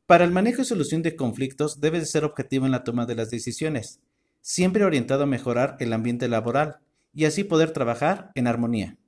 Para el manejo y solución de conflictos debes de ser objetivo en la toma de las decisiones, siempre orientado a mejorar el ambiente laboral y así poder trabajar en armonía.